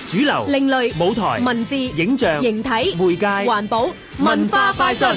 主流、 另類、 舞台、 文字、 影像、 形體、 媒介、 環保、文化快訊。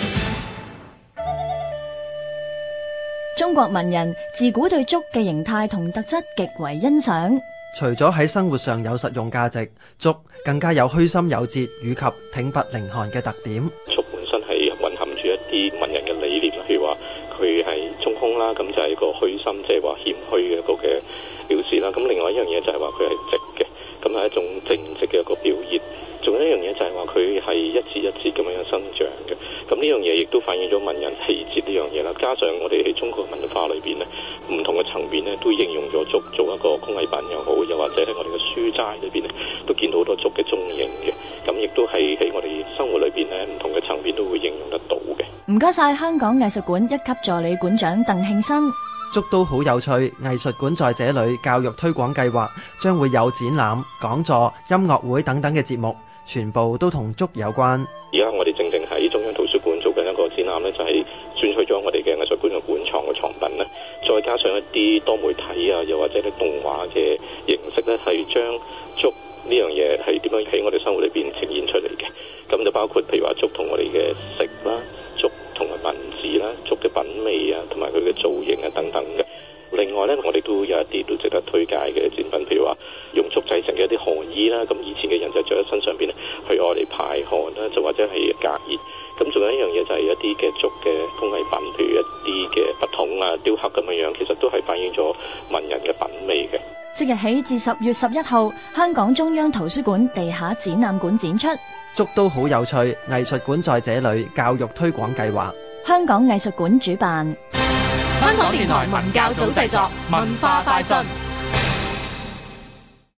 中國文人自古對竹嘅形態同特質極為欣賞。 除咗喺生活上有實用價值，竹更加有虛心有節以及挺拔凌寒嘅特點。 竹本身係蘊含住一啲文人嘅理念，譬如話佢係中空啦，咁就係個虛心，即係話謙虛嘅一個嘅表示啦。咁另外一樣嘢就係話佢係直嘅，咁係一種正直嘅一個表現。仲有一樣嘢就係話佢係一節一節咁樣生長嘅，咁呢樣嘢亦都反映咗文人氣節呢樣嘢啦。加上我哋喺中國文化裏邊呢，唔同嘅層面呢都應用咗竹做一個工藝品又好，又或者喺我哋嘅書齋裏邊呢都見到好多竹嘅蹤影嘅。咁亦都係喺我哋生活裏邊呢唔同嘅層面都會應用得到嘅。 唔該晒香港藝術館一級助理館長鄧慶新。 竹都好有趣，藝術館在這裏教育推廣計劃將會有展覽、講座、音樂會等等嘅節目，全部都同竹有關。 而家我哋正喺中央圖書館做緊一個展覽呢，就係選取咗我哋嘅藝術館嘅館藏嘅藏品呢，再加上一啲多媒體啊，又或者啲動畫嘅形式呢，係將竹呢樣嘢係點樣喺我哋生活裏邊呈現出嚟嘅。咁就包括譬如話竹同我哋嘅食啦，竹同埋文字啦，竹嘅品味啊，同埋佢嘅造型啊等等嘅。另外呢，我哋都有一啲都值得推介嘅展品，譬如話用竹製成嘅一啲汗衣啦，咁以前嘅人就着喺身上邊咧，去愛嚟排汗啦，就或者係隔熱。咁仲有一樣嘢就係一啲嘅竹嘅工藝品，譬如一啲嘅筆筒啊、雕刻咁樣樣，其實都係反映咗文人嘅品味嘅。 即日起至10月11號，香港中央圖書館地下展覽館展出。 竹都好有趣，藝術館在這裏教育推廣計劃， 香港藝術館主辦。 香港電台文教組製作，文化快訊。